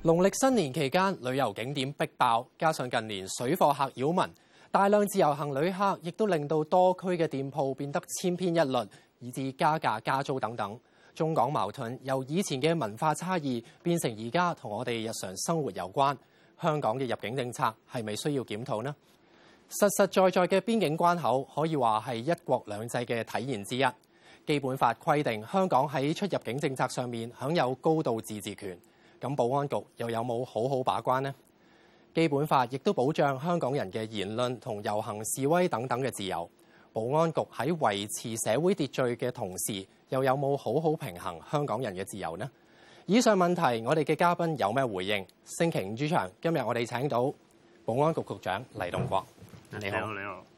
農曆新年期間，旅遊景點逼爆，加上近年水貨客擾民，大量自由行旅客亦都令到多區嘅店鋪變得千篇一律，以致加價加租等等。中港矛盾由以前嘅文化差異變成而家同我哋日常生活有關。香港嘅入境政策係咪需要檢討呢？實實在在嘅邊境關口可以話係一國兩制嘅體現之一。基本法規定香港喺出入境政策上面享有高度自治權。咁保安局又有冇好好把關呢？基本法亦都保障香港人嘅言論同遊行示威等等嘅自由。保安局喺維持社會秩序嘅同時，又有冇好好平衡香港人嘅自由呢？以上問題，我哋嘅嘉賓有咩回應？星期五主場，今日我哋請到保安局局長黎棟國。你好， 你好。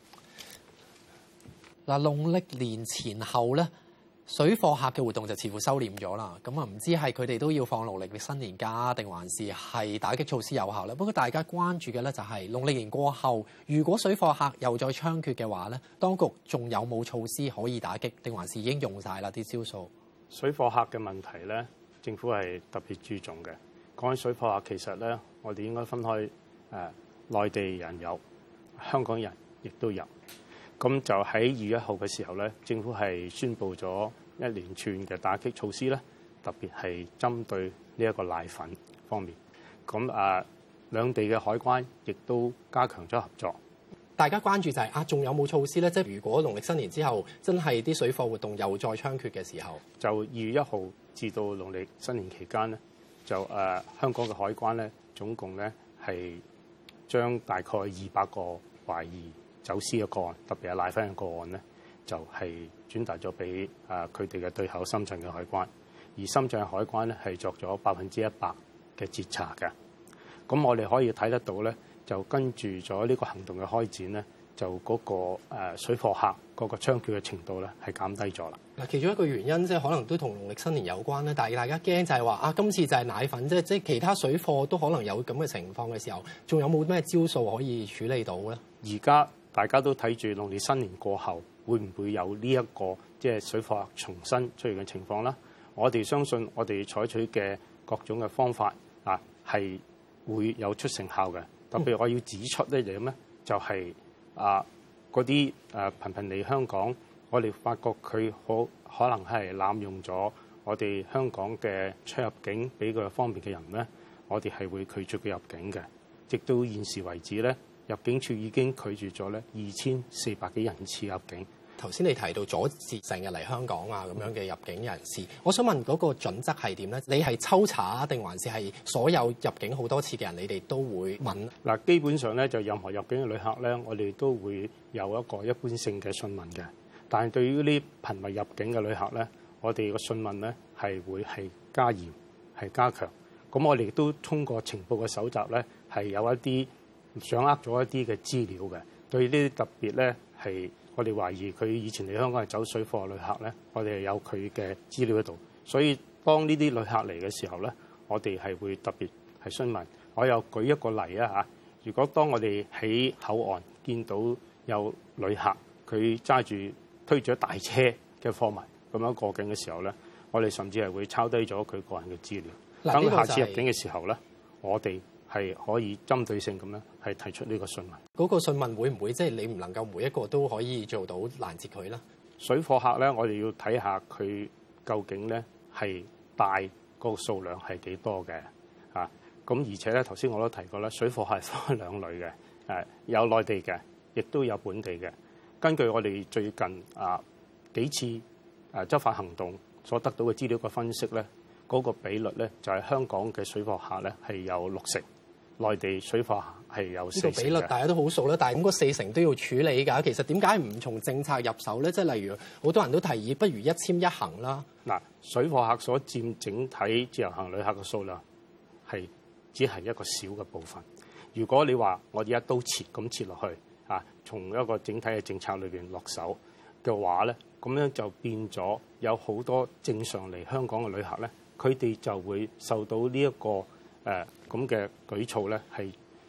嗱，農曆年前後咧，水貨客嘅活動就似乎收斂咗啦。咁啊，唔知係佢哋都要放農曆新年假，定還是係打擊措施有效咧？不過大家關注嘅咧就係農曆年過後，如果水貨客又再猖獗嘅話咧，當局仲有冇措施可以打擊，定還是已經用晒啦啲招數？ 水貨客嘅問題咧，政府係特別注重嘅。講起水貨客，其實咧，我哋應該分開內地人有，香港人亦都有。咁就喺2月1號嘅時候咧，政府係宣布咗一連串嘅打擊措施咧，特別係針對呢一個奶粉方面。咁兩地嘅海關亦都加強咗合作。 大家關注就係仲有冇措施咧？即係如果農曆新年之後真係啲水貨活動又再猖獗嘅時候， 就2月1號至到農曆新年期間咧，就香港嘅海關咧，總共咧係將大概200個懷疑走私嘅個案，特別係奶粉嘅個案咧，就係轉達咗俾佢哋嘅對口深圳嘅海關，而深圳嘅海關咧係作咗100%嘅截查嘅。咁我哋可以睇得到咧，就跟住咗呢個行動嘅開展咧，就嗰個水貨客嗰個猖獗嘅程度咧係減低咗啦。 嗱，其中一個原因即係可能都同農曆新年有關咧，但係大家驚就係話今次就係奶粉，即係其他水貨都可能有咁嘅情況嘅時候，仲有冇咩招數可以處理到咧？ 而家大家都睇住農曆新年過後，會唔會有呢一個即係水貨客重新出現嘅情況啦？我哋相信我哋採取嘅各種嘅方法係會有出成效嘅。特別我要指出咧就咩？就係嗰啲頻頻嚟香港，我哋發覺佢可能係濫用咗我哋香港嘅出入境俾佢方便嘅人咧，我哋係會拒絕佢入境嘅。直到現時為止咧，入境處已經拒絕咗咧2400幾人次入境。頭先你提到阻截成日嚟香港咁樣嘅入境人士，我想問嗰個準則係點咧？你係抽查定還是係所有入境好多次嘅人，你哋都會問？嗱，基本上咧就任何入境嘅旅客咧，我哋都會有一個一般性嘅訊問嘅。但係對於呢頻密入境嘅旅客咧，我哋個訊問咧係會係加嚴係加強。咁我哋亦都通過情報嘅搜集咧，係有一啲掌握咗一啲嘅資料嘅。對呢啲特別咧係。我哋懷疑佢以前嚟香港係走水貨嘅旅客咧，我哋係有佢嘅資料喺度，所以當呢啲旅客嚟嘅時候咧，我哋係會特別係詢問。我又舉一個例如果當我哋喺口岸見到有旅客佢揸住推住一大車嘅貨物咁樣過境嘅時候咧，我哋甚至係會抄低咗佢個人嘅資料。等下次入境嘅時候咧，我哋係可以針對性咁樣係提出呢個訊問。嗰個訊問會唔會即係你唔能夠每一個都可以做到攔截佢咧？水貨客咧，我哋要睇下佢究竟咧係帶個數量係幾多嘅咁而且咧頭先我都提過啦，水貨客係分兩類嘅，有內地嘅，亦都有本地嘅。根據我哋最近幾次執法行動所得到嘅資料嘅分析咧，嗰個比率咧就係香港嘅水貨客咧係有60%。內地水貨係有40%。呢個比率大家都好熟啦，但係咁嗰40%都要處理㗎。其實點解唔從政策入手咧？即係例如好多人都提議，不如一簽一行啦。嗱，水貨客所佔整體自由行旅客嘅數量係只係一個小嘅部分。如果你話我哋一刀切咁切落去從一個整體嘅政策裏邊落手嘅話咧，咁樣就變咗有好多正常嚟香港嘅旅客咧，佢哋就會受到呢一個咁嘅舉措咧，係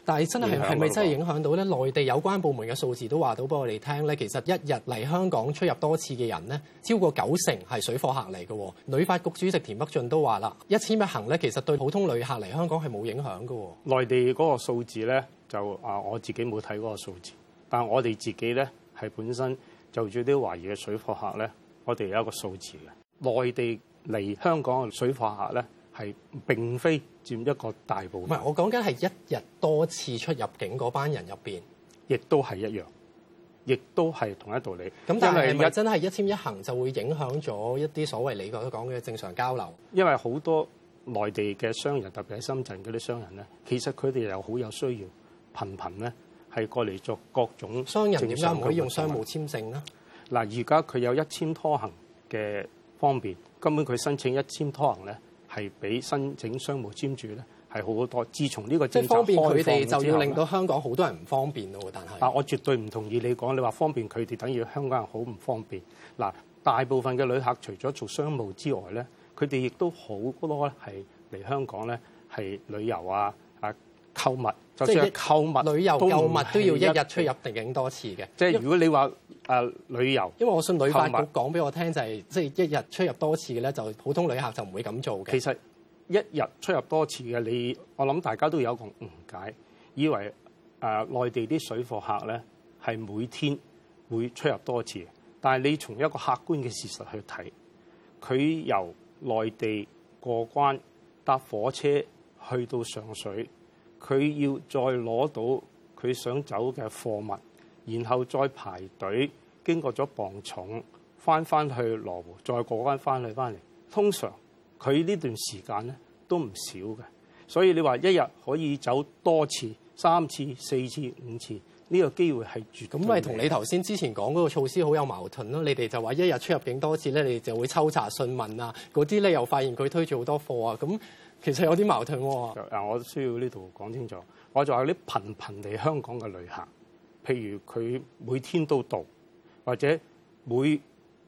但係真係咪真係影響到咧？內地有關部門嘅數字都話到俾我哋聽咧，其實一日嚟香港出入多次嘅人咧，超過90%係水貨客嚟嘅。旅發局主席田北俊都話啦，1000一行咧，其實對普通旅客嚟香港係冇影響嘅。 內地嗰個數字咧，就我自己冇睇嗰個數字，但係我哋自己咧係本身就住啲懷疑嘅水貨客咧，我哋有一個數字嘅。內地嚟香港嘅水貨客咧，係並非佔一個大部分。 唔係，我講緊係一日多次出入境嗰班人入邊， 亦都係一樣，亦都係同一道理。 咁但係咪真係1000一行就會影響咗一啲所謂你所講嘅正常交流？ 因為好多內地嘅商人，特別係深圳嗰啲商人咧，其實佢哋又好有需要，頻頻咧係過嚟做各種商人點解唔可以用商務簽證咧？ 嗱，而家佢有1000拖行嘅方便，根本佢申請1000拖行咧，係比申請商務簽注咧係好好多。自從呢個政策方便佢哋，就要令到到香港好多人唔方便咯。但係， 我絕對唔同意你講，你話方便佢哋，等於香港人好唔方便。嗱，大部分嘅旅客除咗做商務之外咧，佢哋亦都好多係嚟香港咧係旅遊啊、購物，就算係購物、 旅遊購物都要一日出入境多次嘅。 即係如果你話旅遊， 因為我信旅發局講俾我聽就係，即係一日出入多次嘅咧，就普通旅客就唔會咁做嘅。 其實一日出入多次嘅，我諗大家都有一個誤解，以為內地啲水貨客咧係每天會出入多次，但係你從一個客觀嘅事實去睇，佢由內地過關搭火車去到上水，佢要再攞到佢想走嘅貨物，然後再排隊，經過咗磅重，翻去羅湖，再過關翻嚟。通常佢呢段時間咧都唔少嘅，所以你話一日可以走多次、3次、4次、5次，呢個機會係絕對。 咁咪同你頭先之前講嗰個措施好有矛盾咯？你哋就話一日出入境多次咧，你哋就會抽查訊問啊，嗰啲咧又發現佢推住好多貨啊，咁其實有啲矛盾喎。 我需要呢度講清楚，我就話啲頻嚟香港嘅旅客，譬如佢每天都到，或者每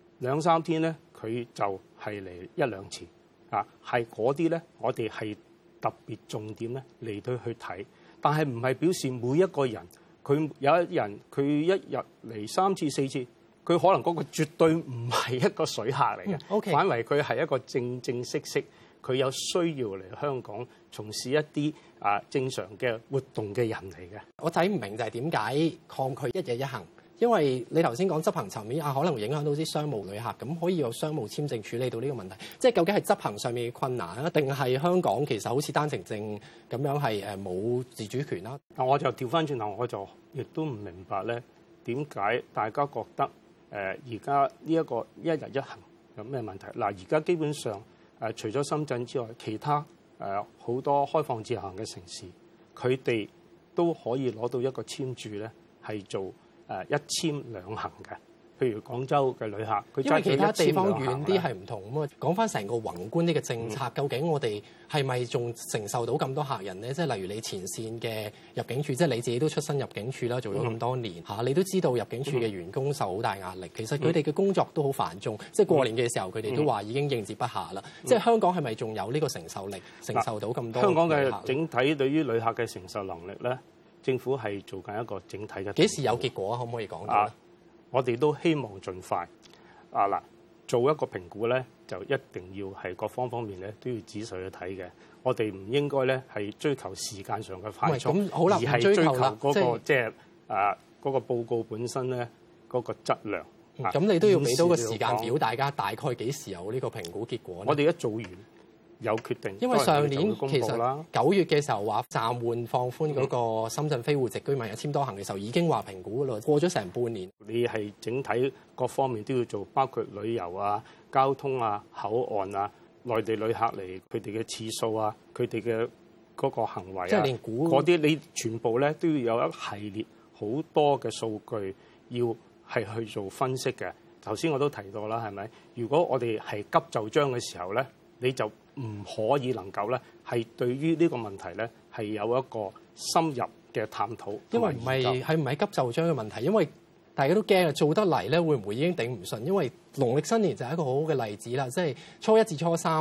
2、3天咧，佢就係嚟1-2次啊，係嗰啲咧，我哋係特別重點咧嚟到去睇，但係唔係表示每一個人佢有一人佢一日嚟3次4次，佢可能嗰個絕對唔係一個水客嚟嘅 ，OK， 反為佢係一個正式佢有需要嚟香港從事一啲正常嘅活動嘅人嚟嘅。 我睇唔明就係點解抗拒一日一行？因為你頭先講執行層面可能會影響到啲商務旅客，咁可以有商務簽證處理到呢個問題。即係究竟係執行上面嘅困難啊，定係香港其實好似單程證咁樣係冇自主權啦？ 我就調翻轉頭，我就亦都唔明白咧，點解大家覺得而家呢一個一日一行有咩問題？嗱，而家基本上除咗深圳之外，其他好多開放自由行嘅城市，佢哋都可以攞到一個簽注咧，係做一簽兩行嘅。譬如廣州嘅旅客，佢因為其他地方遠遠啲係唔同咁啊。講翻成個宏觀呢個政策，究竟我哋係咪仲承受到咁多客人咧？即係例如你前線嘅入境處，即係你自己都出身入境處啦，做咗咁多年嚇，你都知道入境處嘅員工受好大壓力。其實佢哋嘅工作都好繁重，即係過年嘅時候佢哋都話已經應接不暇啦。即係香港係咪仲有呢個承受力，承受到咁多？ 香港嘅整體對於旅客嘅承受能力咧，政府係做緊一個整體嘅。 幾時有結果？可唔可以講到咧？ 我哋都希望盡快做一個評估咧，就一定要係各方面咧都要仔細去睇嘅。我哋唔應該咧係追求時間上嘅快速，而係追求嗰個即係嗰個報告本身咧嗰個質量。 咁你都要俾到個時間表，大家大概幾時有呢個評估結果呢？ 我哋一做完有決定， 因為上年其實9月嘅時候話暫緩放寬嗰個深圳非戶籍居民1簽多行嘅時候，已經話評估噶啦，過咗成半年。 你係整體各方面都要做，包括旅遊啊、交通啊、口岸啊、內地旅客嚟佢哋嘅次數啊、佢哋嘅嗰個行為啊， 即係連嗰啲你全部咧都要有一系列好多嘅數據要係去做分析嘅。頭先我都提到啦，係咪？如果我哋係急就章嘅時候咧，你就唔可以能夠咧，係對於呢個問題咧係有一個深入嘅探討。 因為唔係急就章嘅問題，因為大家都驚啊，做得嚟咧會唔會已經頂唔順？因為農曆新年就係一個好好嘅例子啦，即係初1至初3，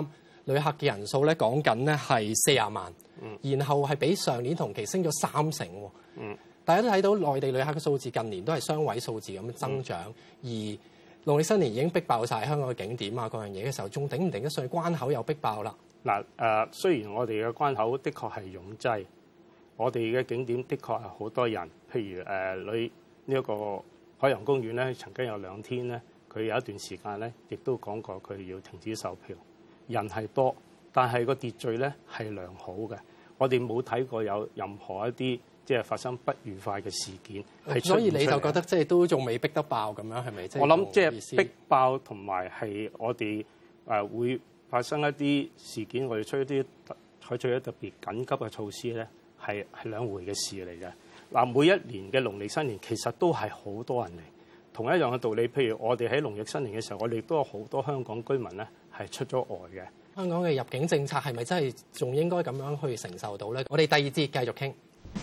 旅客嘅人數咧講緊咧係40萬，然後係比上年同期升咗30%喎。大家都睇到內地旅客嘅數字近年都係雙位數字咁增長，而農曆新年已經逼爆晒香港嘅景點啊各樣嘢嘅時候，仲頂唔頂得上？關口又逼爆啦。 嗱雖然我哋嘅關口的確係擁擠，我哋嘅景點的確係好多人，譬如呢一個海洋公園咧，曾經有2天咧，佢有一段時間咧，亦都講過佢要停止售票，人係多，但係個秩序咧係良好嘅，我哋冇睇過有任何一啲即係發生不愉快嘅事件， 所以你就覺得即係都仲未逼得爆咁樣，係咪？ 我諗即係逼爆同埋係我哋會發生一啲事件，我哋採取一啲特別緊急嘅措施咧，係兩回嘅事嚟嘅。嗱，每一年嘅農曆新年其實都係好多人嚟，同一樣嘅道理。譬如我哋喺農曆新年嘅時候，我哋都有好多香港居民咧係出咗外嘅。 香港嘅入境政策係咪真係仲應該咁樣去承受到咧？我哋第二節繼續傾。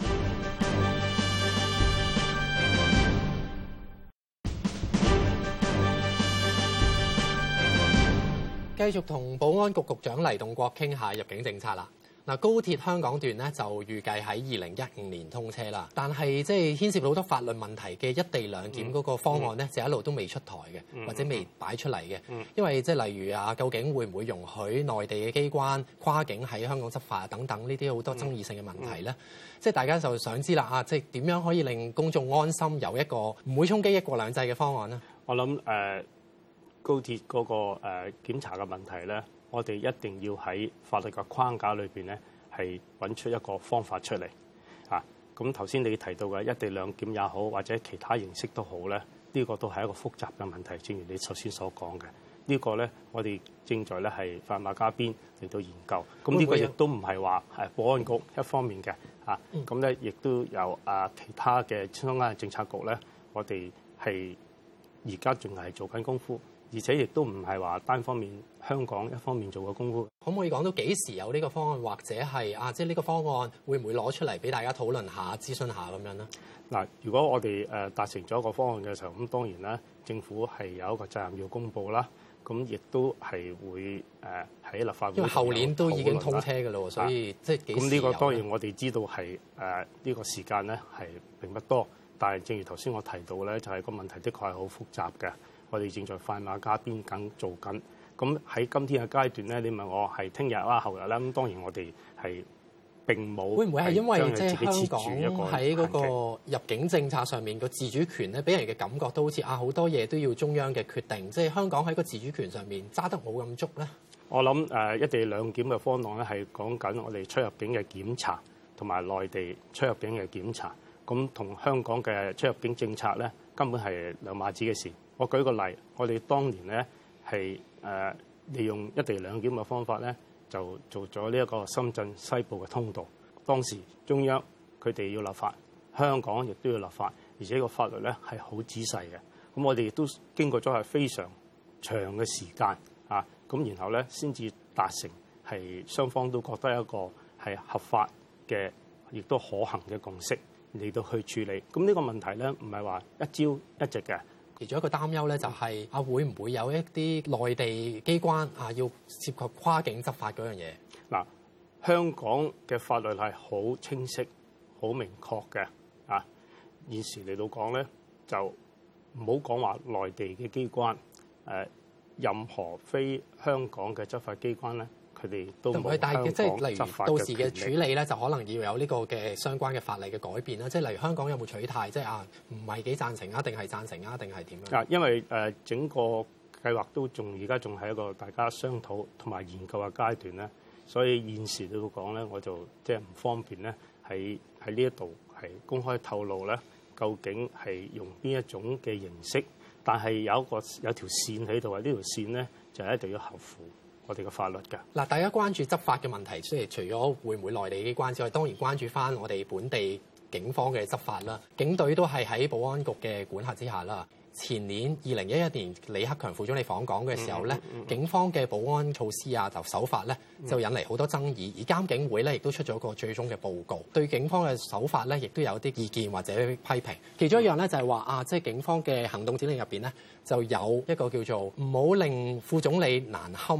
繼續同保安局局長黎棟國傾下入境政策啦。嗱，高鐵香港段咧就預計喺2015年通車啦，但係即係牽涉到好多法律問題嘅一地兩檢嗰個方案咧，就一路都未出台嘅，或者未擺出嚟嘅。因為即係例如啊，究竟會唔會容許內地嘅機關跨境喺香港執法等等呢啲好多爭議性嘅問題咧？即係大家就想知啦啊，即係點樣可以令公眾安心有一個唔會衝擊一國兩制嘅方案呢？ 我諗高鐵嗰個檢查嘅問題咧，我哋一定要喺法律嘅框架裏邊咧，係揾出一個方法出嚟啊！咁頭先你提到嘅一地兩檢也好，或者其他形式都好咧，呢個都係一個複雜嘅問題。正如你頭先所講嘅，呢個咧我哋正在咧係快馬加鞭嚟到研究。咁呢個亦都唔係話係保安局一方面嘅啊，咁咧亦都有其他嘅相關嘅政策局咧，我哋係而家仲係做緊功夫。而且亦都唔係話單方面香港一方面做嘅功夫。 可唔可以講到幾時有呢個方案，或者係即係呢個方案會唔會攞出嚟俾大家討論下、諮詢下咁樣咧？ 嗱，如果我哋達成咗一個方案嘅時候，咁當然啦，政府係有一個責任要公佈啦。咁亦都係會喺立法會， 因為後年都已經通車嘅咯，所以即係幾時有？ 咁呢個當然我哋知道係呢個時間咧係並不多，但係正如頭先我提到咧，就係個問題的確係好複雜嘅。我哋正在快馬加鞭緊做緊，咁喺今天嘅階段咧，你問我係聽日啊、後日啦，咁當然我哋係並冇。會唔會係因為即係香港喺嗰個入境政策上面個自主權咧，俾人嘅感覺都好似好多嘢都要中央嘅決定，即係香港喺個自主權上面揸得冇咁足咧？我諗一地兩檢嘅方案咧係講緊我哋出入境嘅檢查同埋內地出入境嘅檢查，咁同香港嘅出入境政策咧根本係兩碼子嘅事。我舉個例，我哋當年咧係利用一地兩檢嘅方法咧，就做咗呢一個深圳西部嘅通道。當時中央佢哋要立法，香港亦都要立法，而且個法律咧係好仔細嘅。咁我哋亦都經過咗係非常長嘅時間啊，咁然後咧先至達成係雙方都覺得一個係合法嘅，亦都可行嘅共識嚟到去處理。咁呢個問題咧唔係話一朝一夕嘅。其中一個擔憂咧就係會唔會有一啲內地機關要涉及跨境執法嗰樣嘢？嗱，香港嘅法律係好清晰、好明確嘅啊。現時嚟到講咧，就唔好講話內地嘅機關，任何非香港嘅執法機關咧，佢哋都冇香港執法嘅權力。到時嘅處理咧，就可能要有呢個嘅相關嘅法例嘅改變啦。即係例如香港有冇取態，即係唔係幾贊成定係贊成定係點樣？因為整個計劃都而家仲係一個大家商討同埋研究嘅階段咧，所以現時嚟講咧，我就即係唔方便咧喺呢一度係公開透露咧，究竟係用邊一種嘅形式。但係有條線喺度啊！呢條線咧就一定要合乎我哋嘅法律㗎。嗱，大家關注執法嘅問題，即係除咗會唔會內地機關之外，當然關注翻我哋本地警方嘅執法啦。警隊都係喺保安局嘅管轄之下啦。前年2011年李克強副總理訪港嘅時候咧，警方嘅保安措施就手法咧就引嚟好多爭議，而監警會咧亦都出咗個最終嘅報告，對警方嘅手法咧亦都有啲意見或者批評。其中一樣咧就係話即係警方嘅行動指令入邊咧就有一個叫做唔好令副總理難堪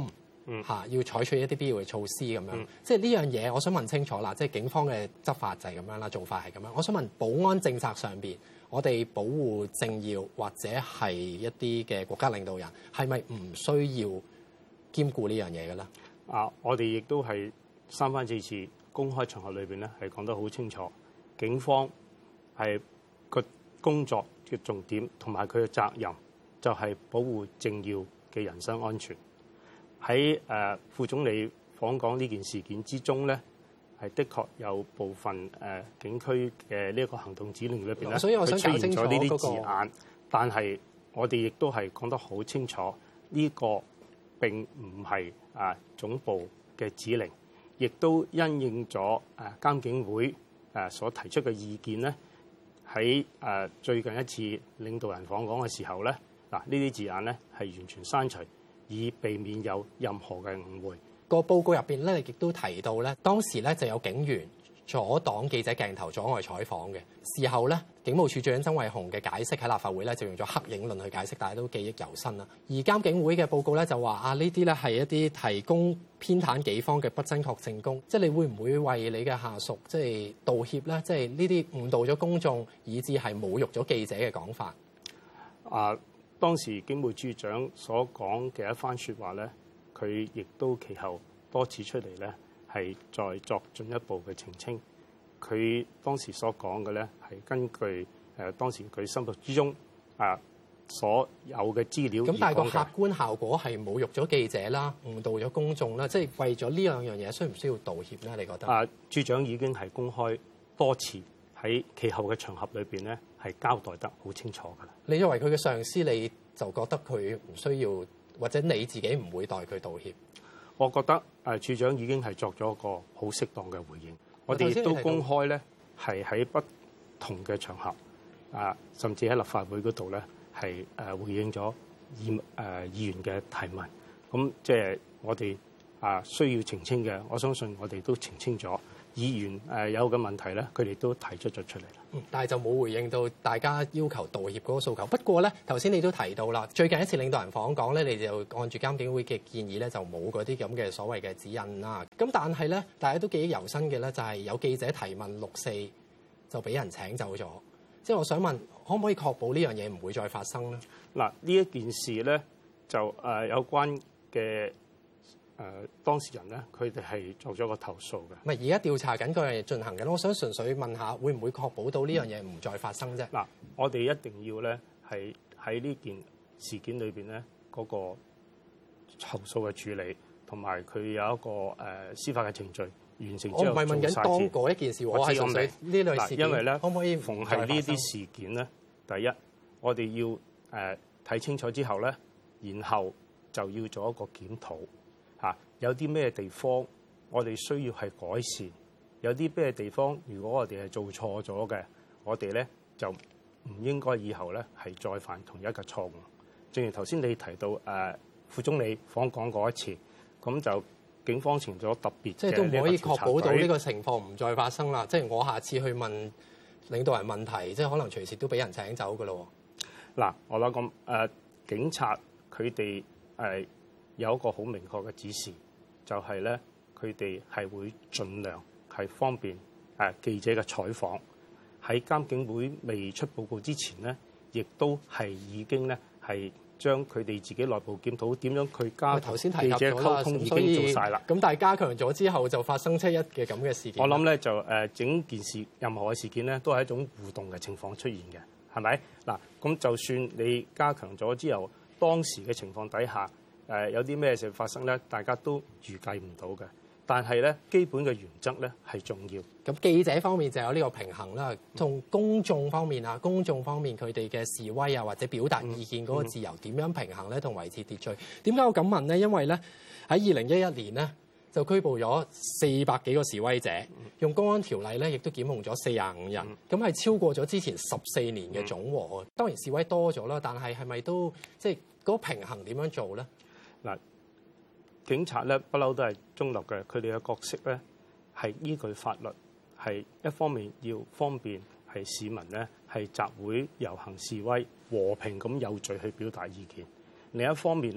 要採取一啲必要嘅措施咁樣。即係呢樣嘢，我想問清楚啦。即係警方嘅執法就係咁樣啦，做法係咁樣。我想問保安政策上邊，我哋保護政要或者係一啲嘅國家領導人，係咪唔需要兼顧呢樣嘢嘅咧？ 我哋亦都係三番四次公開場合裏邊咧，係講得好清楚，警方係個工作嘅重點同埋佢嘅責任就係保護政要嘅人身安全。喺副總理訪港呢件事件之中咧，係的確有部分警區嘅呢一個行動指令裏邊咧， 所以我想佢出現咗呢啲字眼， 嗰個， 但係我哋亦都係講得好清楚，呢個並唔係總部嘅指令，亦都因應咗監警會所提出嘅意見咧。喺最近一次領導人訪港嘅時候咧，呢啲字眼咧係完全刪除，以避免有任何嘅誤會。 個報告入邊咧，亦都提到咧，當時咧就有警員阻擋記者鏡頭，阻礙採訪嘅。事後咧，警務處長曾偉雄嘅解釋喺立法會咧就用咗黑影論去解釋，大家都記憶猶新啦。而監警會嘅報告咧就話呢啲咧係一啲提供偏袒己方嘅不真確證供，即係你會唔會為你嘅下屬即係道歉咧？即係呢啲誤導咗公眾，以至係侮辱咗記者嘅講法。 當時警務處長所講嘅一番説話咧，佢亦都其後多次出嚟咧，係再作進一步嘅澄清。佢當時所講嘅咧，係根據當時佢心目之中所有嘅資料。 咁但係個客觀效果係侮辱咗記者啦，誤導咗公眾啦，即係為咗呢兩樣嘢，需唔需要道歉咧？你覺得？ 處長已經係公開多次喺其後嘅場合裏邊咧，係交代得好清楚㗎啦。 你作為佢嘅上司，你就覺得佢唔需要，或者你自己唔會代佢道歉？ 我覺得處長已經係作咗一個好適當嘅回應。我哋亦都公開咧，係喺不同嘅場合甚至喺立法會嗰度咧，係回應咗議員嘅提問。咁即係我哋需要澄清嘅，我相信我哋都澄清咗。議員有嘅問題咧，佢哋都提出咗出嚟啦。 但係就冇回應到大家要求道歉嗰個訴求。不過咧，頭先你都提到啦，最近一次領導人訪港咧，你就按住監警會嘅建議咧，就冇嗰啲咁嘅所謂嘅指引啦。咁但係咧，大家都記憶猶新嘅咧，就係有記者提問6·4就俾人請走咗。即係我想問，可唔可以確保呢樣嘢唔會再發生咧？ 嗱，呢一件事咧，就有關嘅。當事人咧，佢哋係作咗個投訴嘅。 唔係而家調查緊嗰樣嘢進行緊，我想純粹問下，會唔會確保到呢樣嘢唔再發生啫？ 嗱，我哋一定要咧係喺呢件事件裏邊咧嗰個投訴嘅處理，同埋佢有一個司法嘅程序完成之後。我唔係問緊當嗰一件事，我係純粹呢類事件。因為咧，可唔可以逢係呢啲事件咧，第一我哋要睇清楚之後咧，然後就要做一個檢討。有啲咩地方我哋需要係改善，有啲咩地方如果我哋係做錯咗嘅，我哋咧就唔應該以後咧係再犯同一個錯誤。正如頭先你提到副總理訪港嗰一次，咁就警方成咗特別即係都唔可以確保到呢個情況唔再發生啦。即係我下次去問領導人問題，即係可能隨時都俾人請走㗎咯。 嗱，我諗咁警察佢哋有一個好明確嘅指示。就係咧，佢哋係會盡量係方便記者嘅採訪。喺監警會未出報告之前咧，亦都係已經咧係將佢哋自己內部檢討點樣去加強記者溝通已經做晒啦。 咁但係加強咗之後，就發生7·1嘅咁嘅事件。 我諗咧就整件事任何嘅事件咧，都係一種互動嘅情況出現嘅，係咪？嗱，咁就算你加強咗之後，當時嘅情況底下。有啲咩事發生咧？大家都預計唔到嘅。但係咧，基本嘅原則咧係重要。 咁記者方面就有呢個平衡啦。從公眾方面啊，公眾方面佢哋嘅示威啊，或者表達意見嗰個自由點樣平衡咧，同維持秩序？點解我咁問咧？因為咧喺2011年咧就拘捕咗400幾個示威者，用公安條例咧亦都檢控咗45人，咁係超過咗之前14年嘅總和。當然示威多咗啦，但係咪都即係嗰個平衡點樣做咧？ 嗱，警察咧不嬲都係中立嘅，佢哋嘅角色咧係依據法律，係一方面要方便係市民咧係集會遊行示威和平咁有序去表達意見，另一方面咧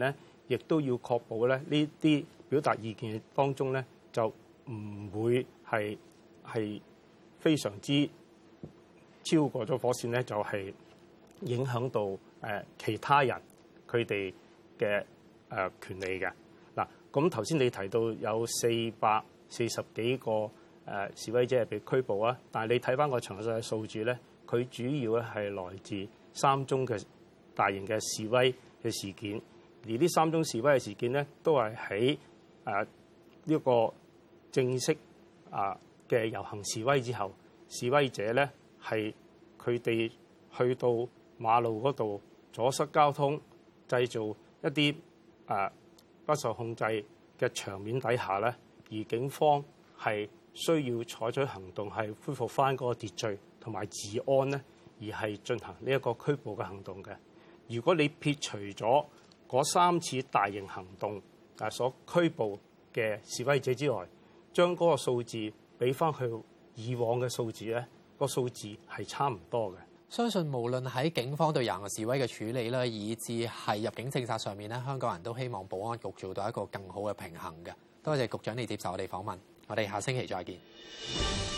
亦都要確保咧呢啲表達意見當中咧就唔會係非常之超過咗火線咧，就係影響到其他人佢哋嘅權利嘅。嗱，咁頭先你提到有440幾個示威者係被拘捕啊，但係你睇翻個詳細嘅數字咧，佢主要咧係來自3宗嘅大型嘅示威嘅事件，而呢3宗示威嘅事件咧都係喺呢個正式嘅遊行示威之後，示威者咧係佢哋去到馬路嗰度阻塞交通，製造一啲不受控制嘅場面底下咧，而警方係需要採取行動，係恢復翻嗰個秩序同埋治安咧，而係進行呢一個拘捕嘅行動嘅。如果你撇除咗嗰3次大型行動所拘捕嘅示威者之外，將嗰個數字俾翻佢以往嘅數字咧，個數字係差唔多嘅。 相信無論喺警方對遊行示威嘅處理啦，以至係入境政策上面咧，香港人都希望保安局做到一個更好嘅平衡嘅。多謝局長你接受我哋訪問，我哋下星期再見。